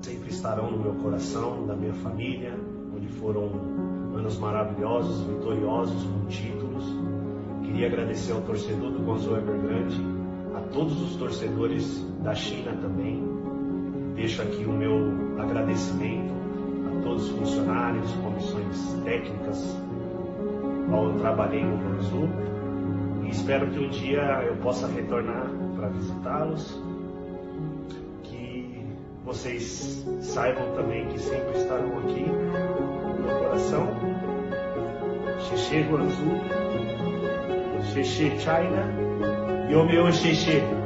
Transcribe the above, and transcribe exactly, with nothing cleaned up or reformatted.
sempre estarão no meu coração, da minha família, onde foram anos maravilhosos, vitoriosos, com títulos. Queria agradecer ao torcedor do Guangzhou Evergrande, a todos os torcedores da China também. Deixo aqui o meu agradecimento a todos os funcionários, comissões técnicas, qual eu trabalhei no Guangzhou. E espero que um dia eu possa retornar para visitá-los. Que vocês saibam também que sempre estarão aqui no meu coração. Xexê Guangzhou, Xexê China, Yo meu Xexê.